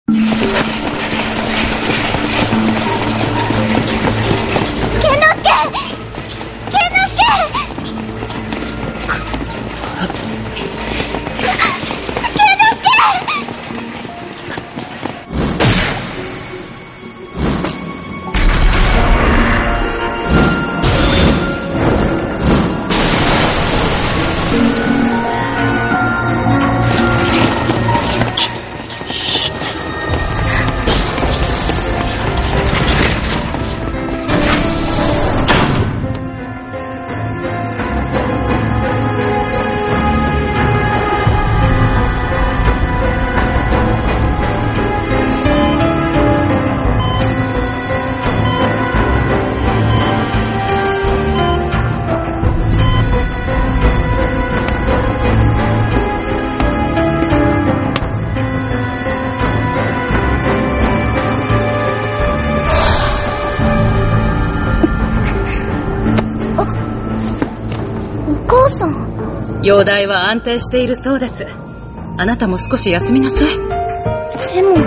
容体は安定しているそうです。あなたも少し休みなさい。 でも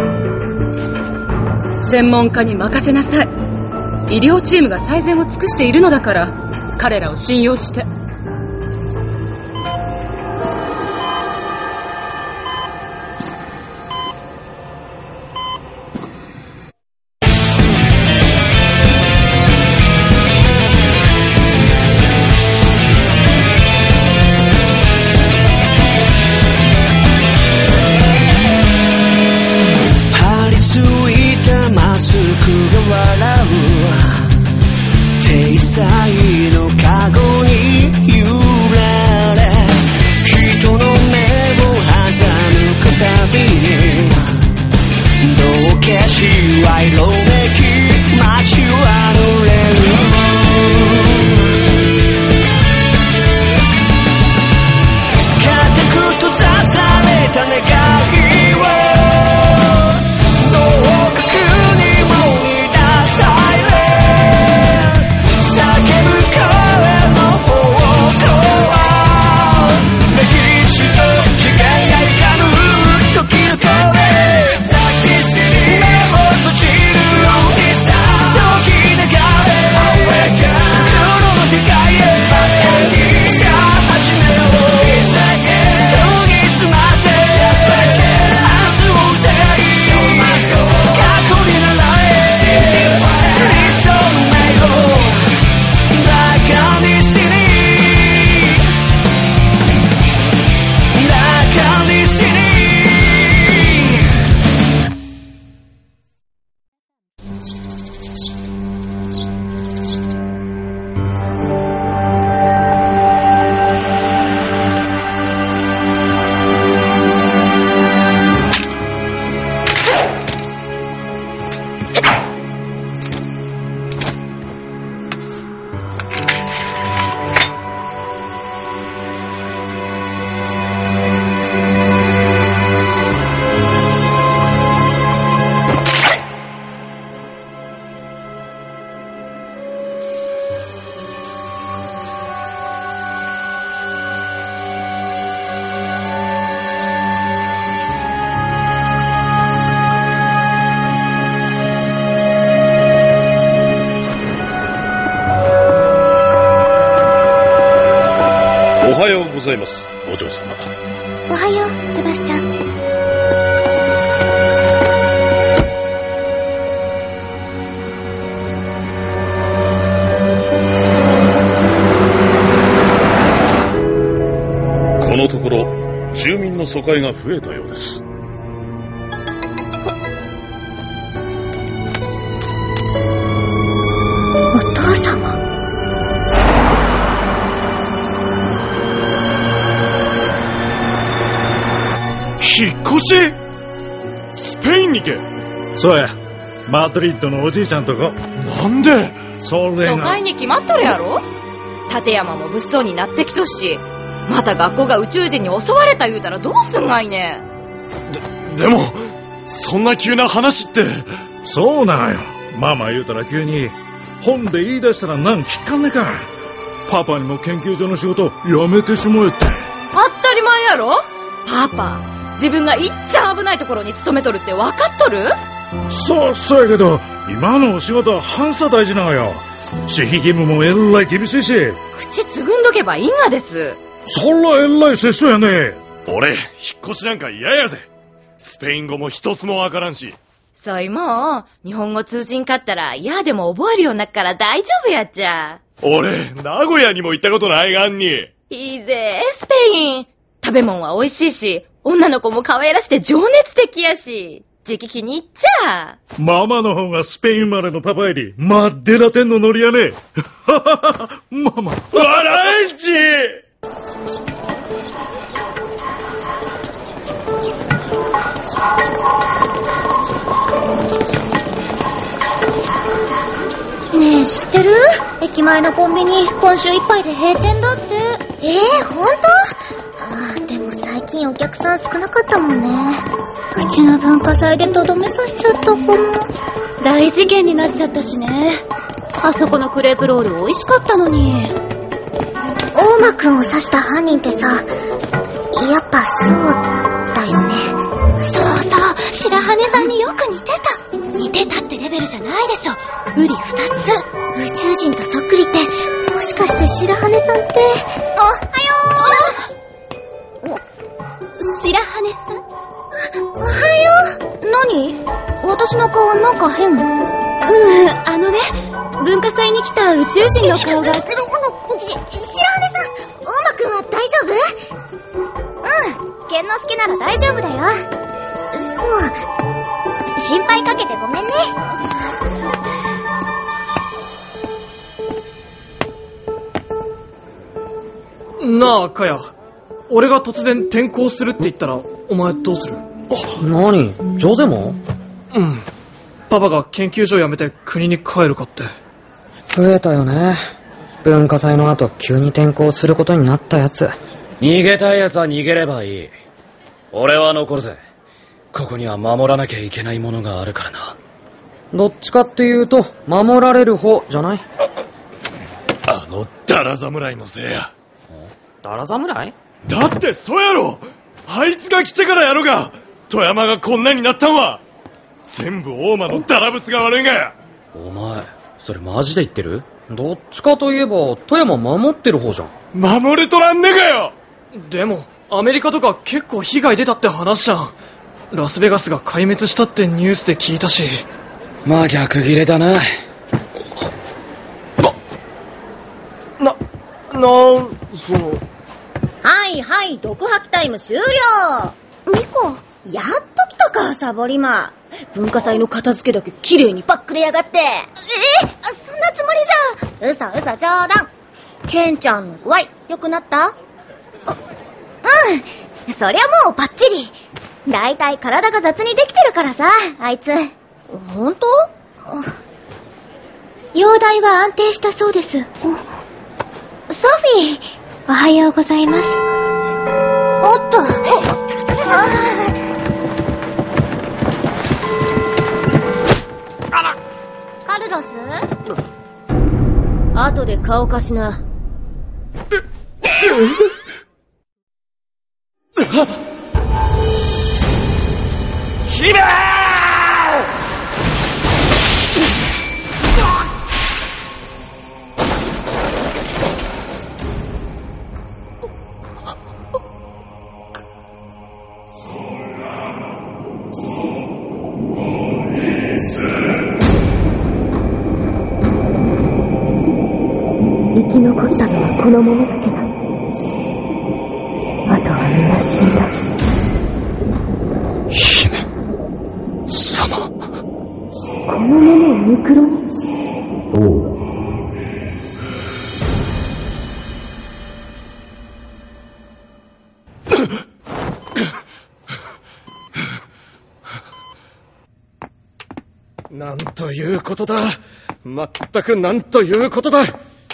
専門家に任せなさい。医療チームが最善を尽くしているのだから、彼らを信用して。 おはようございます、お嬢様。 おはよう、セバスチャン。 このところ住民の疎開が増えたようです。 お父様。 引っ越し？スペインにけ？ そうや、マドリッドのおじいちゃんとこ。 なんで？ それが疎開に決まっとるやろ。立山も物騒になってきとし、また学校が宇宙人に襲われた言うたらどうすんがいね。 でもそんな急な話って。 そうなのよ。ママ言うたら急に本で言い出したらなん聞かんねか。パパにも研究所の仕事やめてしもえって。 当たり前やろ。パパ自分がいっちゃ危ないところに勤めとるって分かっとる？ そうやけど、今のお仕事は反射大事なのよ。守秘義務もえらい厳しいし。 口つぐんどけばいいがです。 そらえらい接触やね。 俺、引っ越しなんか嫌やぜ。スペイン語も一つもわからんし。 そいもう、日本語通じんかったら、やでも覚えるようになっから大丈夫やっちゃ。 俺、名古屋にも行ったことないがんに。 いいぜ、スペイン。食べ物は美味しいし、女の子も可愛らして情熱的やし、時期気に入っちゃ。 ママの方がスペイン生まれのパパより、マッデラテンのノリやね。ママ。 笑えんち。 ねえ、知ってる？駅前のコンビニ、今週いっぱいで閉店だって。ほんと？でも最近お客さん少なかったもんね。うちの文化祭でとどめさしちゃった子も。大事件になっちゃったしね。あそこのクレープロール美味しかったのに。大間くんを刺した犯人ってさ、やっぱそうだよね。そう、白羽さんによく似てた。似てたってレベルじゃないでしょ。瓜二つ。宇宙人とそっくりって、もしかして白羽さんって。おはよう。白羽さん？おはよう。何？私の顔なんか変？文化祭に来た宇宙人の顔が。白羽さん、大間くんは大丈夫？健之介なら大丈夫だよ。そう。心配かけてごめんね。 なあ、かや。俺が突然転校するって言ったら、お前どうする？ 何？ジョゼも？ パパが研究所辞めて国に帰るかって。 増えたよね。文化祭の後、急に転校することになったやつ。 逃げたい奴は逃げればいい。俺は残るぜ。ここには守らなきゃいけないものがあるからな。 どっちかっていうと、守られる方じゃない？ あのダラ侍のせいや。 ダラ侍？ だってそうやろ。あいつが来てからやろが。富山がこんなになったんは全部大間のダラブツが悪いがや。 お前それマジで言ってる？ どっちかといえば富山守ってる方じゃん。 守れとらんねがよ。 でもアメリカとか結構被害出たって話じゃん。ラスベガスが壊滅したってニュースで聞いたし。 まあ逆ギレだな。 その。 はい、毒吐きタイム終了。 ミコ。 やっと来たか、サボリマ。文化祭の片付けだけ綺麗にパックれやがって。 そんなつもりじゃ。 嘘冗談。ケンちゃんの具合、良くなった？ そりゃもうバッチリ。だいたい体が雑にできてるからさ、あいつ。 ほんと？ 容体は安定したそうです。ソフィー、おはようございます。おっと。 カルロス？後で顔貸しな。 姫！ 生き残ったのはこの者だけだ。あとは皆死んだ。 姫様。 この者をミクロに。そうだ。 なんということだ。まったくなんということだ。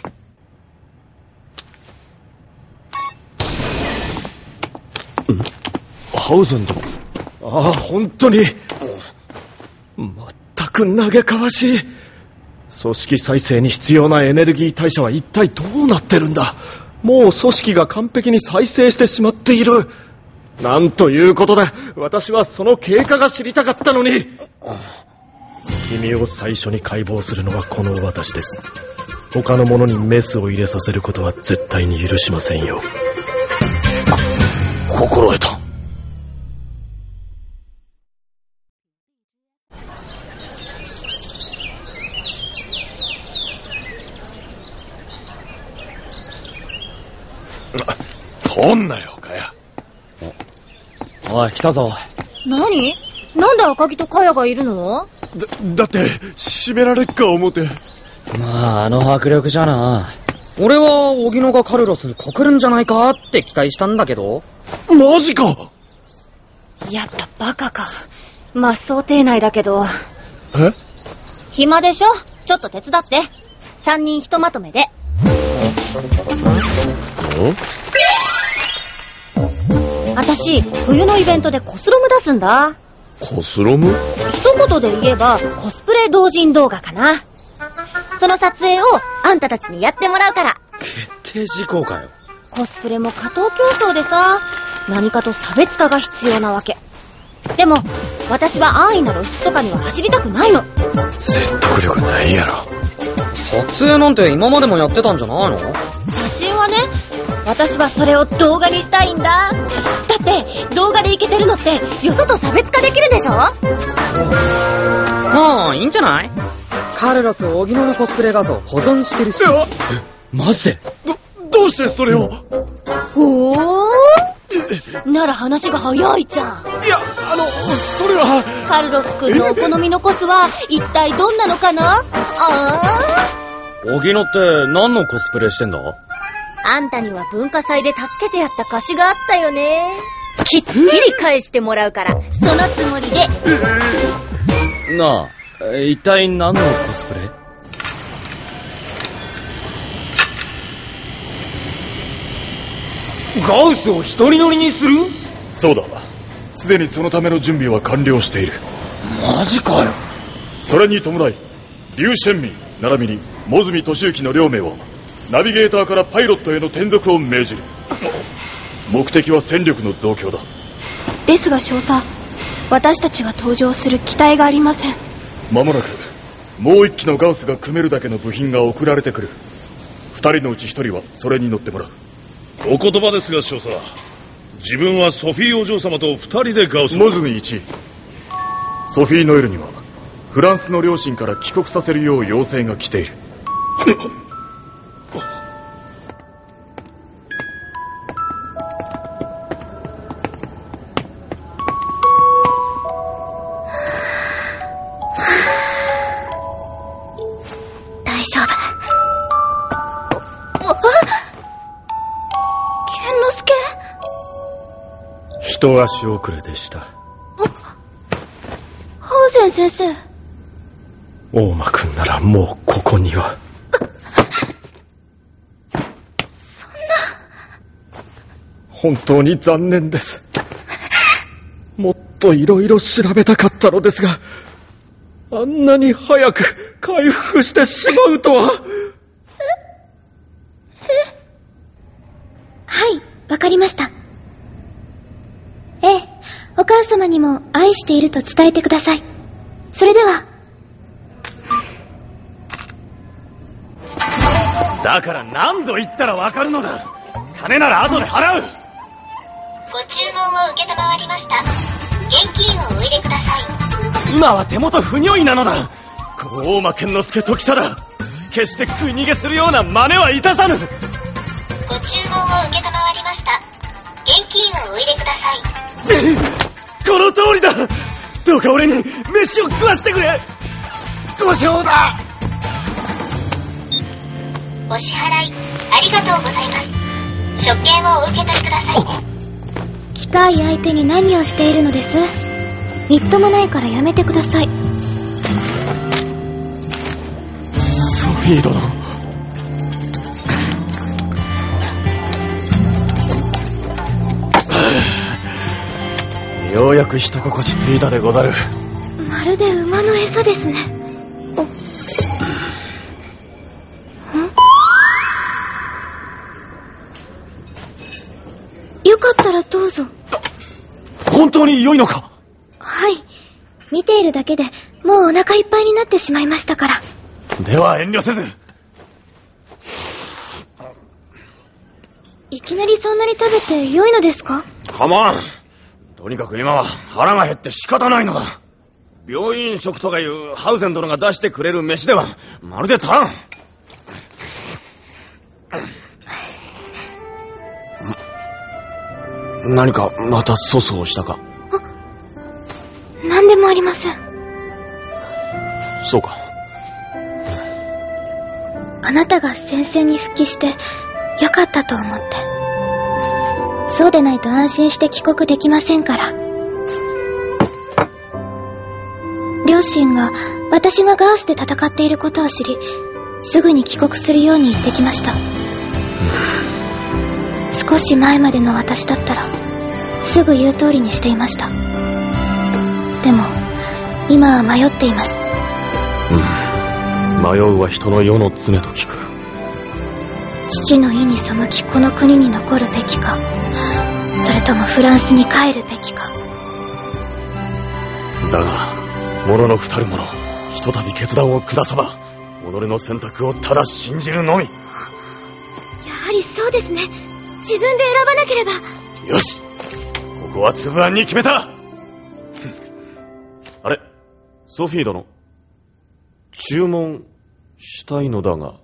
ハウゼン殿。 ああ、本当に。まったく嘆かわしい。組織再生に必要なエネルギー代謝は一体どうなってるんだ。もう組織が完璧に再生してしまっている。 なんということだ。私はその経過が知りたかったのに。君を最初に解剖するのはこの私です。他の者にメスを入れさせることは絶対に許しませんよ。 心得た。取んなよ、かや。 おい、来たぞ。 何？なんで赤木とカヤがいるの？ だって、締められっか思て。 まあ、あの迫力じゃな。 俺は、荻野がカルロスに告るんじゃないかって期待したんだけど。 マジか！ やっぱバカか。まあ、想定内だけど。 え？ 暇でしょ？ちょっと手伝って。3人ひとまとめで。私、冬のイベントでコスロム出すんだ。 コスロム？ 一言で言えば、コスプレ同人動画かな。その撮影をあんたたちにやってもらうから。 決定事項かよ。 コスプレも過当競争でさ、何かと差別化が必要なわけ。でも、私は安易な露出とかには走りたくないの。 説得力ないやろ。 撮影なんて今までもやってたんじゃないの？ 写真はね、私はそれを動画にしたいんだ。だって動画でイケてるのってよそと差別化できるでしょ。 まあいいんじゃない？カルロス荻野のコスプレ画像保存してるし。 マジで？ どうしてそれを？ ほーなら話が早いじゃん。 いや、それは。 カルロス君のお好みのコスは一体どんなのかな？ 荻野って何のコスプレしてんだ？ あんたには文化祭で助けてやった貸しがあったよね。きっちり返してもらうから、そのつもりで。 なあ、一体何のコスプレ？ ガウスを一人乗りにする？そうだ。すでにそのための準備は完了している。マジかよ。それに伴い、劉玄民並びに茂住敏之の両名をナビゲーターからパイロットへの転属を命じる。目的は戦力の増強だ。 ですが少佐、私たちが搭乗する機体がありません。 間もなくもう一機のガウスが組めるだけの部品が送られてくる。二人のうち一人はそれに乗ってもらう。 お言葉ですが少佐、自分はソフィーお嬢様と二人でガウス。 モズミ1、ソフィー・ノエルにはフランスの両親から帰国させるよう要請が来ている。 大丈夫。 剣之助？ 一足遅れでした。 ハウゼン先生。 大間くんならもうここには。 そんな。 本当に残念です。もっといろいろ調べたかったのですが、あんなに早く回復してしまうとは。 はい、わかりました。ええ、お母様にも愛していると伝えてください。それでは。 だから何度言ったらわかるのだ。金なら後で払う。 ご注文を受けたまわりました。現金をお入れください。 今は手元不如意なのだ。この大間健之助時貞、決して食い逃げするような真似はいたさぬ。 ご注文を受けたまわりました。現金をお入れください。 この通りだ。どうか俺に飯を食わしてくれ。ご承だ。 お支払いありがとうございます。食券をお受け取りください。機械相手に何をしているのです？みっともないからやめてください。 ソフィー殿。ようやく一心地ついたでござる。 まるで馬の餌ですね。よかったらどうぞ。 本当に良いのか？ はい。見ているだけでもうお腹いっぱいになってしまいましたから。 では遠慮せず。 いきなりそんなに食べて良いのですか？ 構わん。とにかく今は腹が減って仕方ないのだ。病院食とかいうハウゼン殿が出してくれる飯ではまるで足らん。何かまた粗相したか？ 何でもありません。 そうか。 あなたが戦線に復帰してよかったと思って。そうでないと安心して帰国できませんから。両親が私がガースで戦っていることを知り、すぐに帰国するように言ってきました。少し前までの私だったらすぐ言う通りにしていました。でも今は迷っています。 迷うは人の世の常と聞く。 父の意に背きこの国に残るべきか、それともフランスに帰るべきか。 だが者の二人者、ひとたび決断を下さば己の選択をただ信じるのみ。 やはりそうですね。自分で選ばなければ。 よし、ここはつぶあんに決めた。あれ、ソフィー殿、注文したいのだが。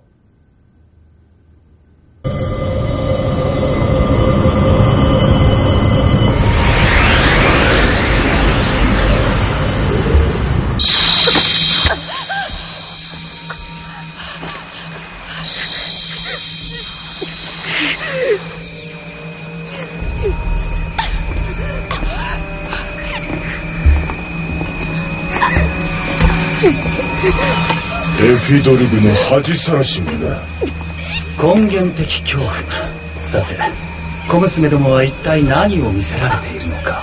エフィドルグの恥さらしめだ。 根源的恐怖。さて、小娘どもは一体何を見せられているのか。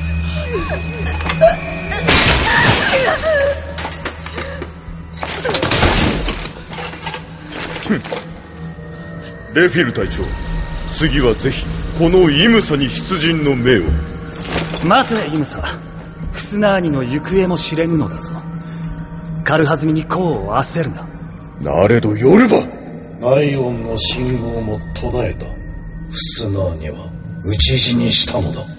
レフィル隊長、次はぜひこのイムサに出陣の命を。 待てイムサ、フスナーニの行方も知れぬのだぞ。軽はずみに功を焦るな。 なれどヨルバ、 ナイオンの信号も途絶えた。フスナーニは討ち死にしたのだ。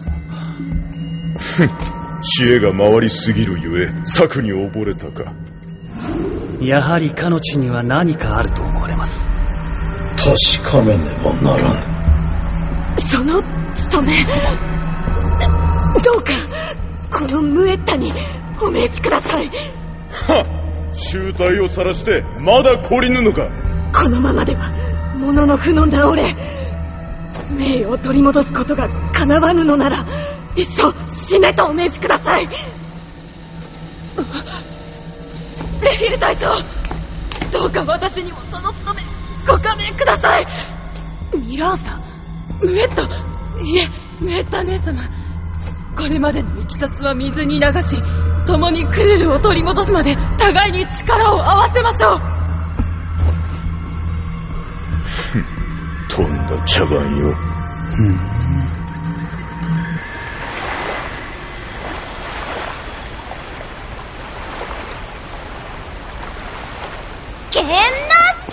知恵が回りすぎるゆえ策に溺れたか。 やはりかの地には何かあると思われます。 確かめねばならぬ。 その務め、どうかこのムエッタにお命じください。 はっ、醜態を晒してまだ懲りぬのか。 このままではものの負の直れ、名誉を取り戻すことが叶わぬのならいっそ死ねとお命じください。レフィル隊長、どうか私にもその務めご加盟ください。ミラーサ、ムエッタ、いえムエッタ姉様、これまでのいきさつは水に流し、共にクルルを取り戻すまで互いに力を合わせましょう。 とんだ茶番よ。 ケンナス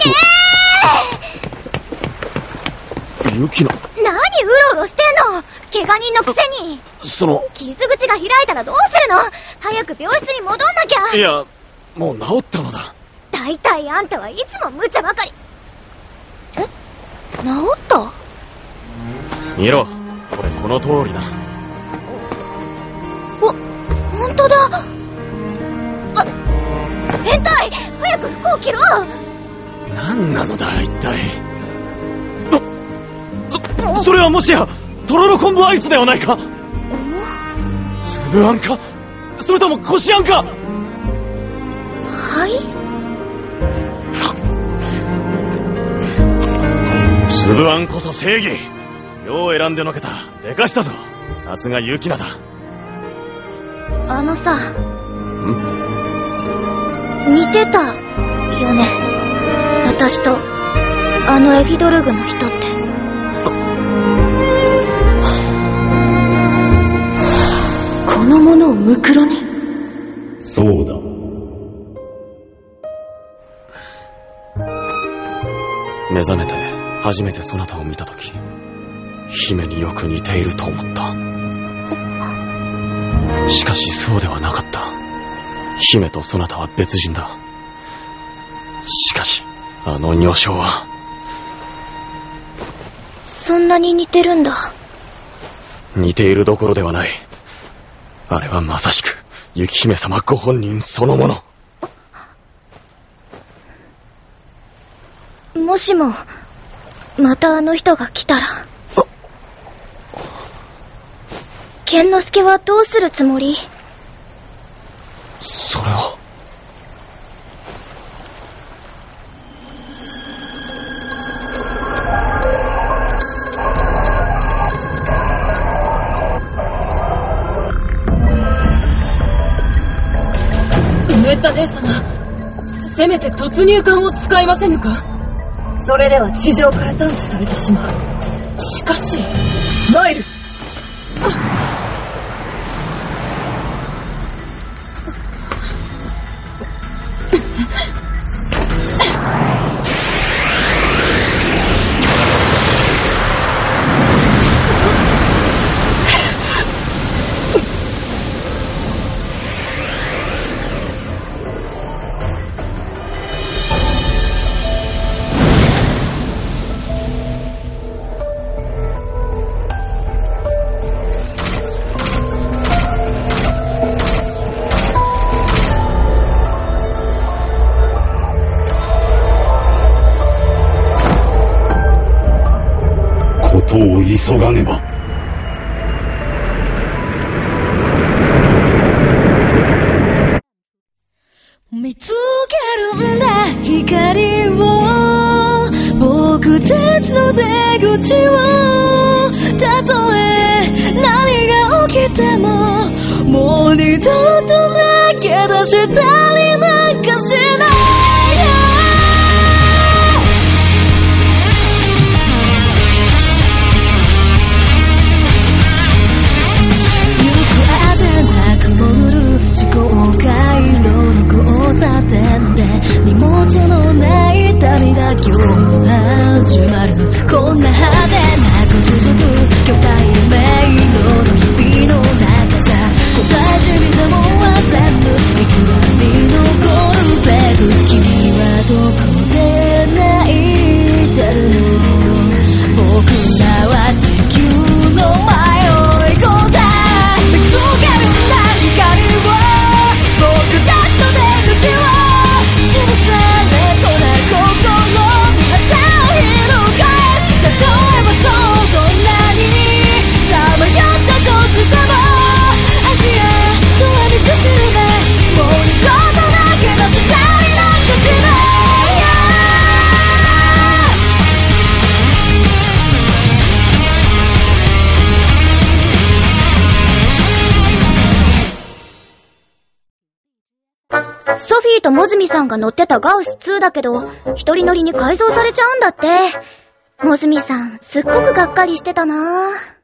ケユキナ。 何うろうろしてんの、怪我人のくせに。傷口が開いたらどうするの。早く病室に戻んなきゃ。 いや、もう治ったのだ。 だいたいあんたはいつも無茶ばかり。え、治った？ 見ろ、これこの通りだ。 ほんとだ。変態、早く服を着ろ。 何なのだ一体。それはもしやとろろ昆布アイスではないか。粒あんか、それともこしあんか。 はい。 粒あんこそ正義。よう選んでのけた。でかしたぞ。さすがユキナだ。 あのさ、似てたよね、私とあのエフィドルグの人って。 のものをムクロに。 そうだ。 目覚めて初めてそなたを見たとき、姫によく似ていると思った。しかしそうではなかった。姫とそなたは別人だ。しかしあの女性は。 そんなに似てるんだ。 似ているどころではない。あれはまさしく雪姫様ご本人そのもの。 もしもまたあの人が来たら、剣之介はどうするつもり？ それは。 ムエッタ姉様、せめて突入艦を使いませぬか？それでは地上から探知されてしまう。しかし、マイル。 ことを急がねば。 見つけるんだ光を、僕たちの出口を。たとえ何が起きても、もう二度と投げ出したりなんかしない。思考回路の交差点で荷物のない旅が今日始まる。こんな派手なく続く巨大迷路の日々の中じゃ答えじみても忘れぬ偽りに残るベル。君はどこで泣いてるの？僕らは地球の迷い子だ。見つけるんだ光を、僕たちの出口を。潰されそうな心に旗を翻す。例えばどんなにさまよったとしても、足やとは道しるべ、もう二度と投げ出したりなんかしない。 ソフィーとモズミさんが乗ってたガウス2だけど、一人乗りに改造されちゃうんだって。モズミさん、すっごくがっかりしてたなぁ。